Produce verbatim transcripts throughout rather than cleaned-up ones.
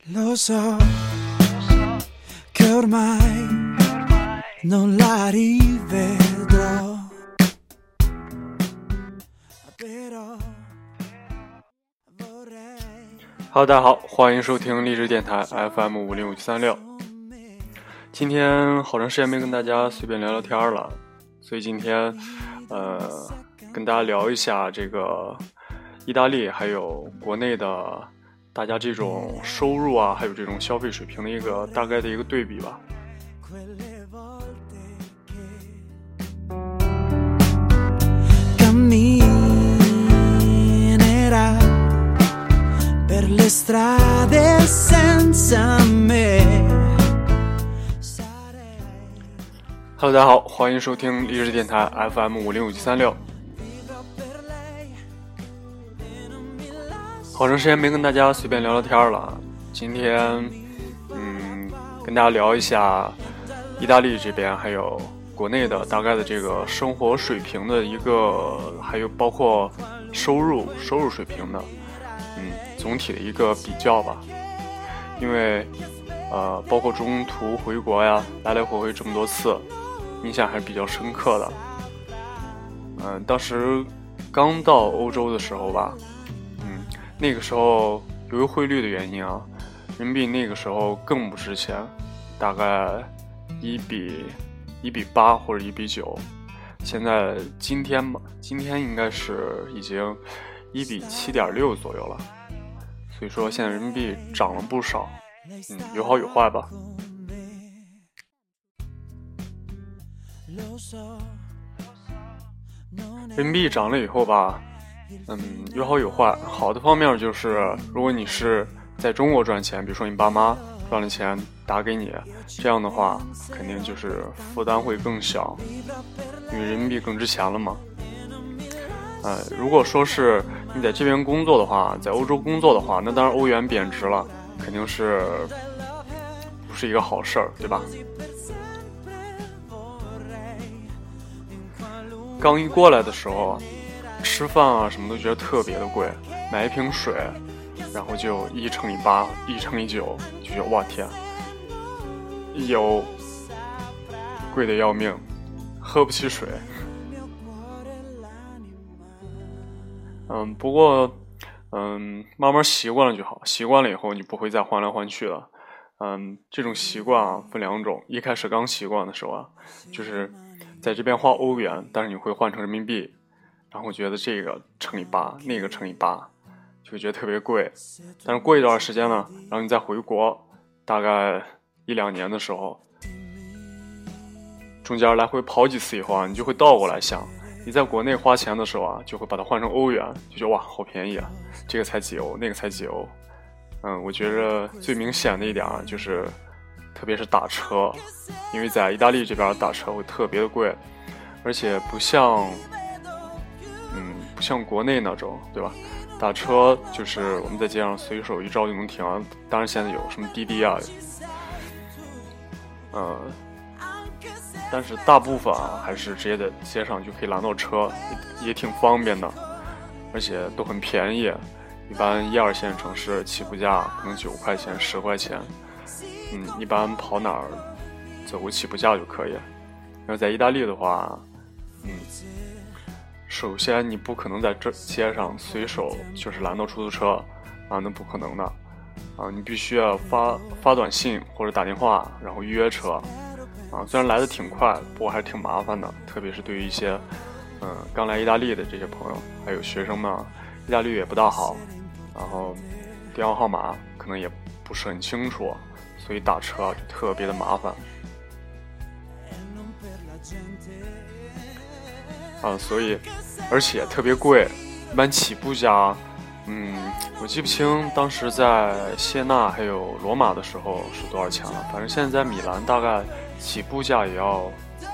Lo so che ormai non la rivedrò però Hello， 大家好，欢迎收听励志电台 F M 五零五七三六。今天好长时间没跟大家随便聊聊天了，所以今天呃跟大家聊一下这个意大利还有国内的大家这种收入啊，还有这种消费水平的一个大概的一个对比吧。Hello， 大家好，欢迎收听励志电台 F M 五零五七三六。好长时间没跟大家随便聊聊天了，今天嗯跟大家聊一下意大利这边还有国内的大概的这个生活水平的一个，还有包括收入收入水平的嗯总体的一个比较吧。因为呃包括中途回国呀，来来回回这么多次，印象还是比较深刻的。嗯、呃、当时刚到欧洲的时候吧，嗯那个时候由于汇率的原因啊，人民币那个时候更不值钱，大概一比一比八或者一比九。现在今天吧，今天应该是已经一比七点六左右了。所以说现在人民币涨了不少，嗯，有好有坏吧。人民币涨了以后吧，嗯，有好有坏。好的方面就是，如果你是在中国赚钱，比如说你爸妈赚了钱打给你，这样的话肯定就是负担会更小，因为人民币更值钱了嘛。呃，如果说是你在这边工作的话，在欧洲工作的话，那当然欧元贬值了，肯定是不是一个好事儿，对吧？刚一过来的时候，吃饭啊什么都觉得特别的贵，买一瓶水，然后就一乘以八，一乘以九，就觉得哇天，油贵的要命，喝不起水。嗯，不过，嗯，慢慢习惯了就好。习惯了以后，你不会再换来换去了。嗯，这种习惯啊，分两种。一开始刚习惯的时候啊，就是在这边花欧元，但是你会换成人民币，然后觉得这个乘以八，那个乘以八，就觉得特别贵。但是过一段时间呢，然后你再回国，大概一两年的时候，中间来回跑几次以后啊，你就会倒过来想。你在国内花钱的时候啊，就会把它换成欧元，就觉得哇好便宜啊，这个才几欧，那个才几欧。嗯，我觉着最明显的一点啊，就是特别是打车，因为在意大利这边打车会特别的贵，而且不像嗯不像国内那种，对吧？打车就是我们在街上随手一招就能停啊，当然现在有什么滴滴啊，呃但是大部分啊还是直接在街上就可以拦到车， 也, 也挺方便的，而且都很便宜。一般一二线城市起步价可能九块钱十块钱，嗯，一般跑哪儿走个起步价就可以。然后在意大利的话，嗯，首先你不可能在这街上随手就是拦到出租车啊，那不可能的啊，你必须要发发短信或者打电话，然后预约车。啊，虽然来的挺快，不过还是挺麻烦的，特别是对于一些嗯刚来意大利的这些朋友，还有学生们，意大利语也不大好，然后电话号码可能也不是很清楚，所以打车就特别的麻烦。啊，所以而且特别贵，一般起步价，嗯，我记不清当时在谢纳还有罗马的时候是多少钱了，反正现在在米兰大概起步价也要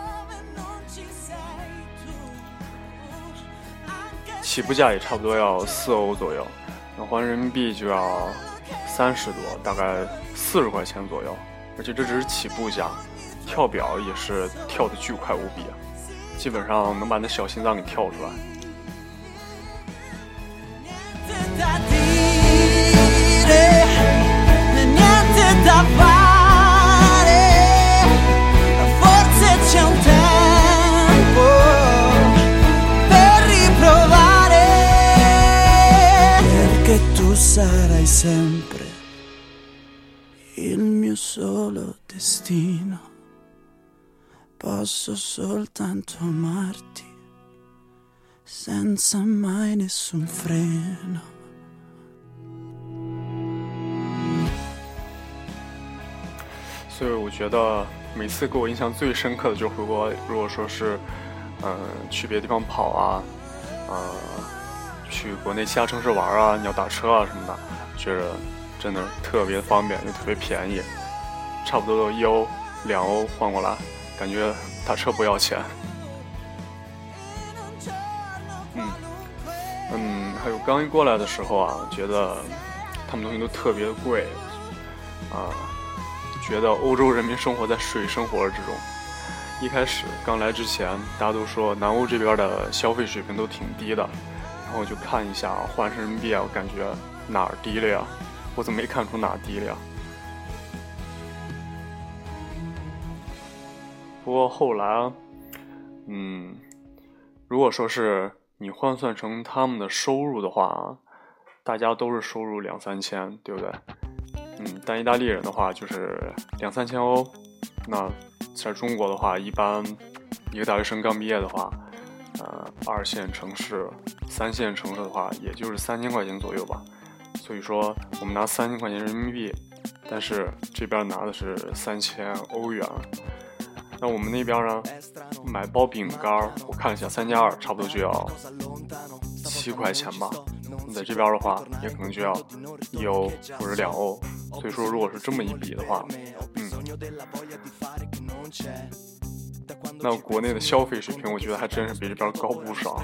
起步价也差不多要四欧左右，那换人民币就要三十多，大概四十块钱左右，而且这只是起步价，跳表也是跳的巨快无比啊，基本上能把那小心脏给跳出来。 il mio solo destino. Posso soltanto amarti senza mai nessun freno。 所以我觉得每次给我印象最深刻的就是回国，如果说是嗯、呃、去别的地方跑啊，呃去国内其他城市玩啊，你要打车啊什么的，觉得真的特别方便又特别便宜，差不多一欧两欧换过来，感觉打车不要钱。嗯嗯，还有刚一过来的时候啊，觉得他们东西都特别贵啊。觉得欧洲人民生活在水深火热之中。一开始刚来之前，大家都说南欧这边的消费水平都挺低的，然后我就看一下换成人民币啊，我感觉哪儿低了呀？我怎么没看出哪儿低了呀？不过后来，嗯，如果说是你换算成他们的收入的话，大家都是收入两三千，对不对？嗯，但意大利人的话就是两三千欧，那在中国的话，一般一个大学生刚毕业的话，呃，二线城市、三线城市的话，也就是三千块钱左右吧。所以说，我们拿三千块钱人民币，但是这边拿的是三千欧元。那我们那边呢，买包饼干，我看了一下，三加二差不多就要七块钱吧。在这边的话，也可能就要一欧或者两欧。所以说，如果是这么一比的话，嗯，那国内的消费水平，我觉得还真是比这边高不少。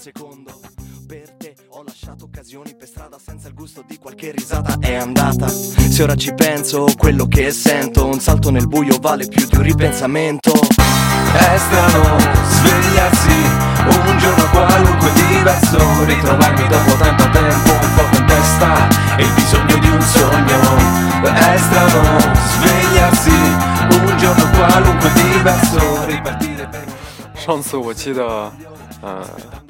È andata, se ora ci penso, quello che sento, un salto nel buio vale più di un ripensamento. È strano svegliarsi un giorno qualunque diverso, ritrovarmi dopo tanto tempo un fuoco in testa e il bisogno di un sogno. È strano svegliarsi un giorno qualunque diverso, ripartire per... 上次我记得，呃。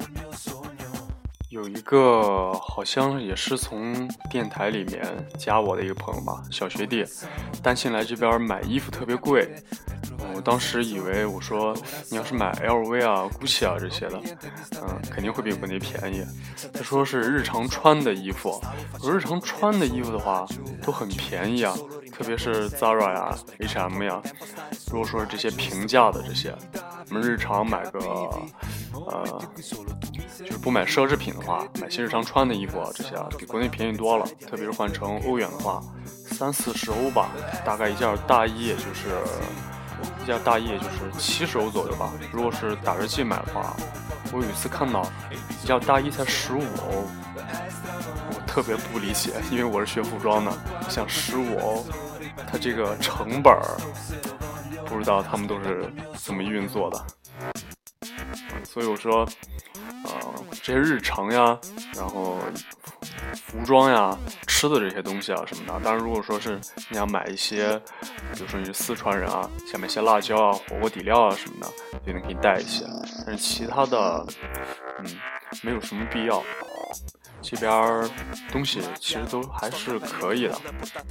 有一个好像也是从电台里面加我的一个朋友吧，小学弟，担心来这边买衣服特别贵。我当时以为我说你要是买 L V 啊、GUCCI 啊这些的，嗯，肯定会比国内便宜。他说是日常穿的衣服，我日常穿的衣服的话都很便宜啊，特别是 Zara 呀、H and M 呀。如果说是这些平价的这些，我们日常买个呃，就是不买奢侈品的话，买些日常穿的衣服啊，这些啊比国内便宜多了。特别是换成欧元的话，三四十欧吧，大概一件大衣也就是一件大衣也就是七十欧左右吧。如果是打折季买的话，我有一次看到一件大衣才十五欧，我特别不理解，因为我是学服装的，像十五欧，它这个成本不知道他们都是怎么运作的。所以我说，呃，这些日常呀，然后服装呀、吃的这些东西啊什么的，当然如果说是你想买一些，比如说你是四川人啊，想买些辣椒啊、火锅底料啊什么的，就能给你带一些。但是其他的，嗯，没有什么必要。这边东西其实都还是可以的。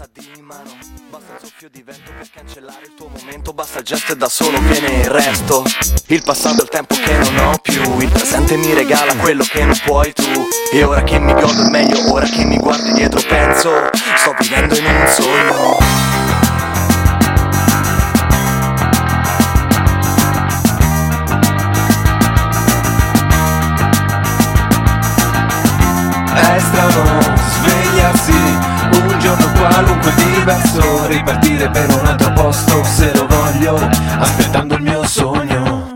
Basta il gesto e da solo viene il resto. Il passato è il tempo che non ho più. Il presente mi regala quello che non puoi tu. E ora che mi godo il meglio, ora che mi guardi dietro penso, sto vivendo in un sogno. È strano svegliarsi un giorno qualunque diverso, ripartire per un altro posto se lo voglio, aspettando il mio sogno.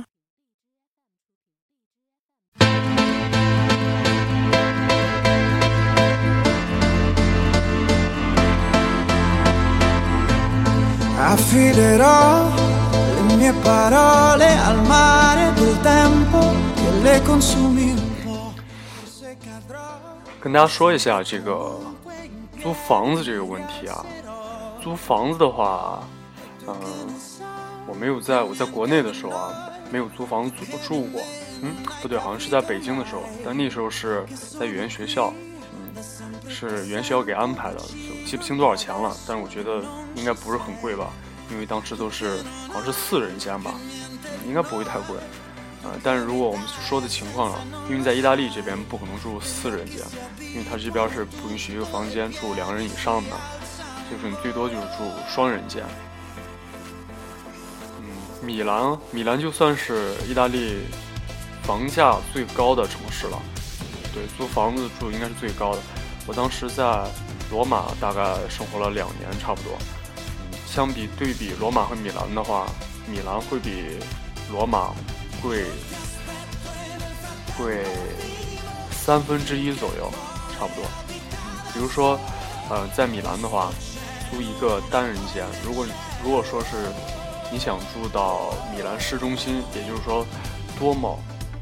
Affiderò le mie parole al mare del tempo che le consumi un po'. 跟大家说一下这个租房子这个问题啊。租房子的话，嗯、呃，我没有在我在国内的时候啊，没有租房子住住过。嗯，不对，好像是在北京的时候，但那时候是在语言学校，嗯， 是元宵给安排的，记不清多少钱了，但是我觉得应该不是很贵吧，因为当时都是好像是四人间吧，应该不会太贵。呃，但是如果我们说的情况了，因为在意大利这边不可能住四人间，因为它这边是不允许一个房间住两人以上的，就是你最多就是住双人间。嗯，米兰，米兰就算是意大利房价最高的城市了，对，租房子住应该是最高的。我当时在罗马大概生活了两年差不多，嗯，相比对比罗马和米兰的话，米兰会比罗马贵贵三分之一左右，差不多。嗯，比如说，呃，在米兰的话，租一个单人间，如果如果说是你想住到米兰市中心，也就是说多莫，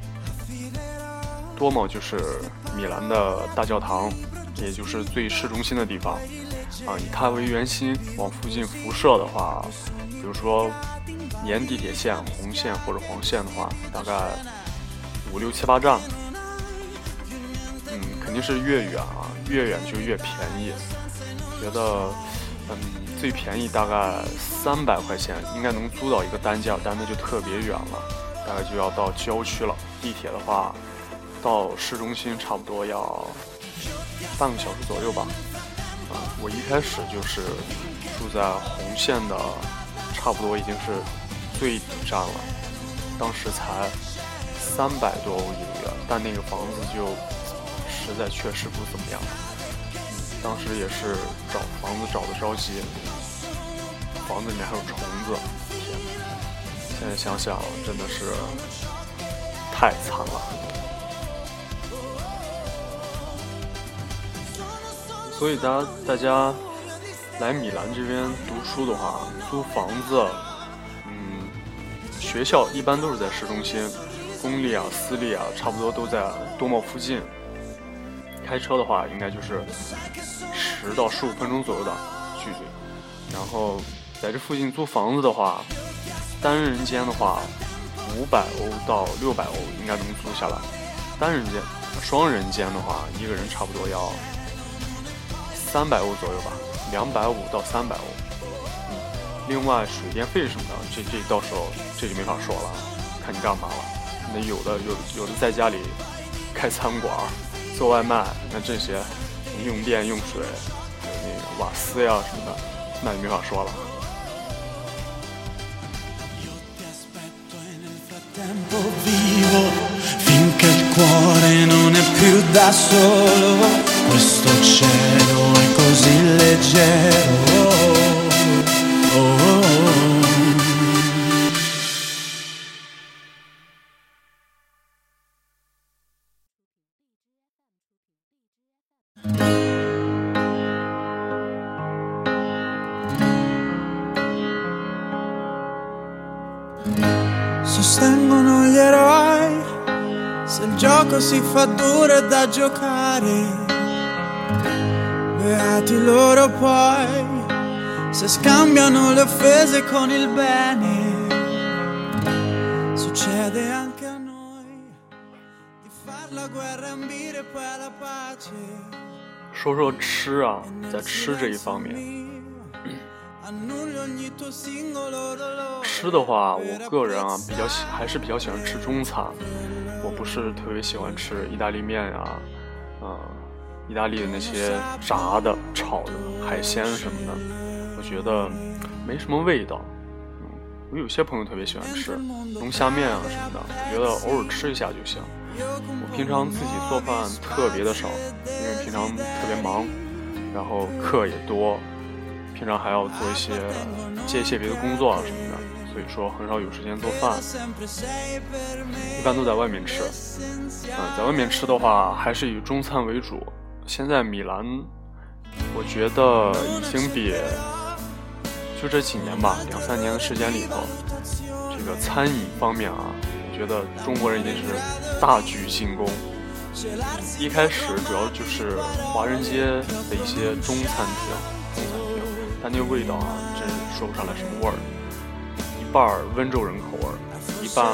多莫就是米兰的大教堂，也就是最市中心的地方啊。以它为圆心往附近辐射的话，比如说沿地铁线红线或者黄线的话，大概五六七八站，嗯，肯定是越远啊，越远就越便宜。觉得，嗯，最便宜大概三百块钱应该能租到一个单间，但那就特别远了，大概就要到郊区了。地铁的话，到市中心差不多要半个小时左右吧。啊，我一开始就是住在红线的，差不多已经是最底站了，当时才三百多欧一个月，但那个房子就实在确实不怎么样。嗯，当时也是找房子找得着急，房子里面还有虫子，天哪！现在想想真的是太惨了。所以大家大家来米兰这边读书的话，租房子，嗯，学校一般都是在市中心，公立啊、私立啊，差不多都在多莫附近。开车的话，应该就是十到十五分钟左右的距离。然后在这附近租房子的话，单人间的话，五百欧到六百欧应该能租下来。单人间，双人间的话，一个人差不多要三百欧左右吧，两百五到三百欧。嗯，另外水电费什么的，这这到时候这就没法说了，看你干嘛了。那有的有有的在家里开餐馆做外卖，那这些你用电用水还有那个瓦斯呀什么的，那就没法说了。 Finché il cuore non è più da solo, questo cielo è così leggero. Oh, oh, oh. Sostengono gli eroi, se il gioco si fa duro è da giocare, beati loro poi, se scambiano le offese con il bene, succede anche a noi, di far la guerra e ambire poi alla pace. 说说吃啊，在吃这一方面，吃的话，我个人啊比较喜还是比较喜欢吃中餐，我不是特别喜欢吃意大利面啊，呃，意大利的那些炸的、炒的海鲜什么的，我觉得没什么味道。嗯，我有些朋友特别喜欢吃龙虾面啊什么的，我觉得偶尔吃一下就行。我平常自己做饭特别的少，因为平常特别忙，然后课也多。平常还要做一些接一些别的工作啊什么的，所以说很少有时间做饭，一般都在外面吃。嗯，在外面吃的话，还是以中餐为主。现在米兰，我觉得已经比就这几年吧，两三年的时间里头，这个餐饮方面啊，我觉得中国人已经是大举进攻。一开始主要就是华人街的一些中餐厅。但那个味道啊，真说不上来什么味儿，一半温州人口味，一半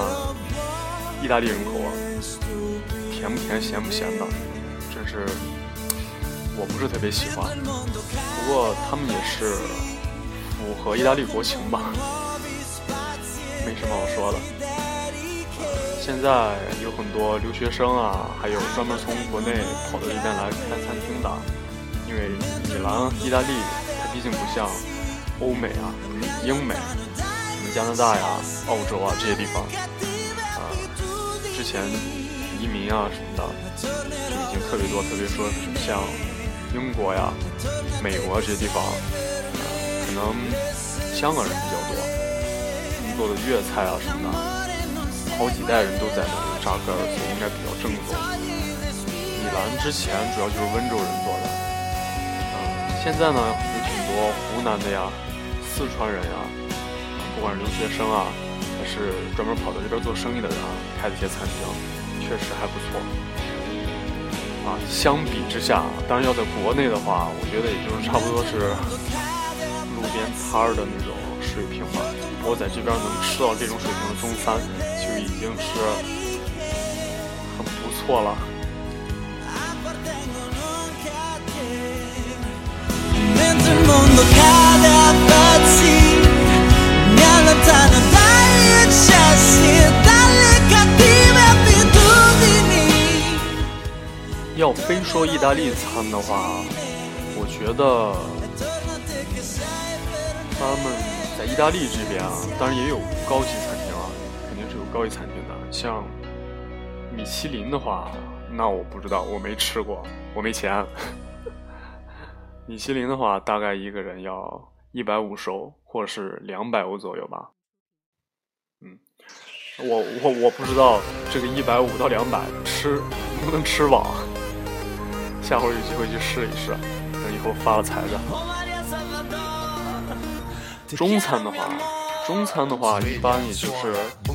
意大利人口味，甜不甜咸不咸的，真是我不是特别喜欢，不过他们也是符合意大利国情吧，没什么好说的。现在有很多留学生啊，还有专门从国内跑到这边来开餐厅的，因为米兰、意大利它毕竟不像欧美啊、英美、什么加拿大呀、澳洲啊这些地方啊，之前移民啊什么的就已经特别多，特别说是像英国呀、美国这些地方，啊、可能香港人比较多，他们做的粤菜啊什么的，好几代人都在那里扎根，所以应该比较正宗。米兰之前主要就是温州人做的，嗯，现在呢有挺多湖南的呀、四川人呀，不管是留学生啊，还是专门跑到这边做生意的人啊，开的一些餐厅，确实还不错。啊，相比之下，当然要在国内的话，我觉得也就是差不多是路边摊儿的那种水平吧。我在这边能吃到这种水平的中餐，就已经是很不错了。要非说意大利餐的话，我觉得他们在意大利这边啊，当然也有高级餐厅啊，肯定是有高级餐厅的。像米其林的话，那我不知道，我没吃过，我没钱。米其林的话，大概一个人要一百五十欧，或者是两百欧左右吧。嗯，我我我不知道这个一百五到两百吃能不能吃饱。下回有机会去试一试，等以后发了财的。中餐的话，中餐的话一般也就是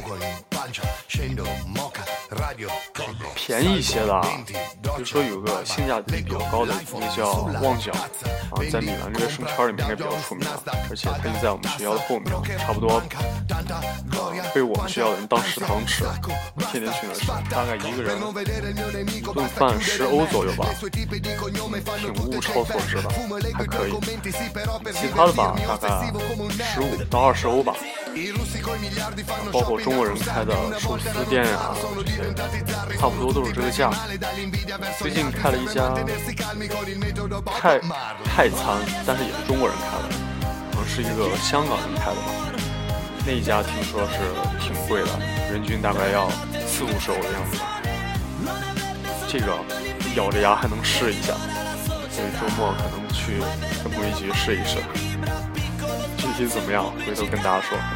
便宜一些的，比如说有个性价比比较高的一个叫旺角啊，在米兰这个生圈里面应该比较出名，而且它就在我们学校的后面，差不多、呃、被我们学校的人当食堂吃，天天去那吃，大概一个人一顿饭十欧左右吧，挺物超所值的，还可以。其他的吧，大概十五到二十欧吧，包括中国人开的寿司店呀、啊，这些差不多都是这个价。最近开了一家泰泰餐，但是也是中国人开的，可能是一个香港人开的吧。那一家听说是挺贵的，人均大概要四五十欧的样子吧。这个咬着牙还能试一下，所以周末可能去跟朋友一起去试一试。具体怎么样，回头跟大家说。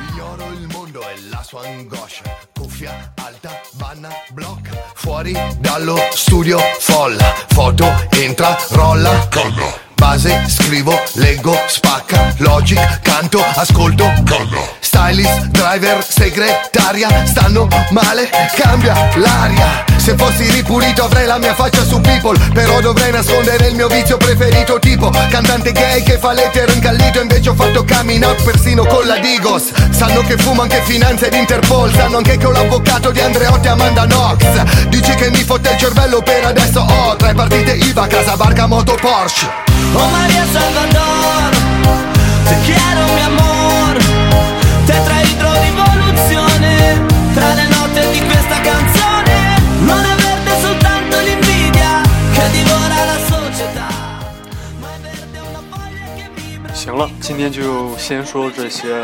Fuori dallo studio folla, foto entra, rolla, base, scrivo, leggo, spacca, logic, canto, ascolto, stylist, driver, segretaria, stanno male, cambia l'aria. Se fossi ripulito avrei la mia faccia su People, però dovrei nascondere il mio vizio preferito, tipo cantante gay che fa l'etero incallito, invece ho fatto coming out persino con la Digos. Sanno che fumo anche finanza ed Interpol, sanno anche che ho l'avvocato di Andreotti e Amanda Knox. Dici che mi fotte il cervello, per adesso ho tre partite I V A, casa, barca, moto, Porsche. Oh Maria Salvador, te quiero mi amor, tetraidro rivoluzione, tra le note di questa canzone, non avverte soltanto l'invidia che divora la società, ma è verde una foglia che vibra. 行了，今天就先说这些。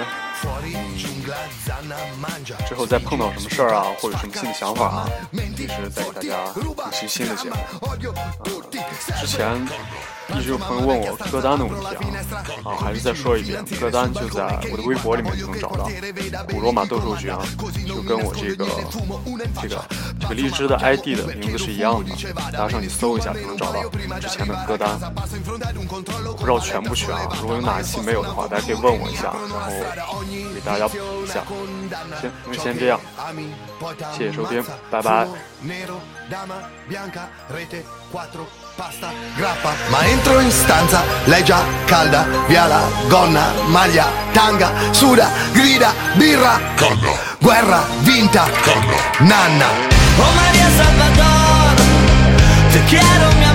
之后再碰到什么事儿啊，或者什么新的想法啊，随时再给大家录期新的节目。呃、之前一直有朋友问我歌单的问题啊，啊，还是再说一遍，歌单就在我的微博里面就能找到，古罗马斗兽局啊，就跟我这个这个这个荔枝的 I D 的名字是一样的，大家上去搜一下就能找到之前的歌单。不知道全不全啊，如果有哪一期没有的话，大家可以问我一下，然后给大家补一下。行，那就先这样，谢谢收听，拜拜。 Pasta, grappa, ma entro in stanza, lei già calda, via la gonna, maglia, tanga, suda, grida, birra, Canna. Guerra vinta, Canna. Nanna. Oh Maria Salvador, te quiero mi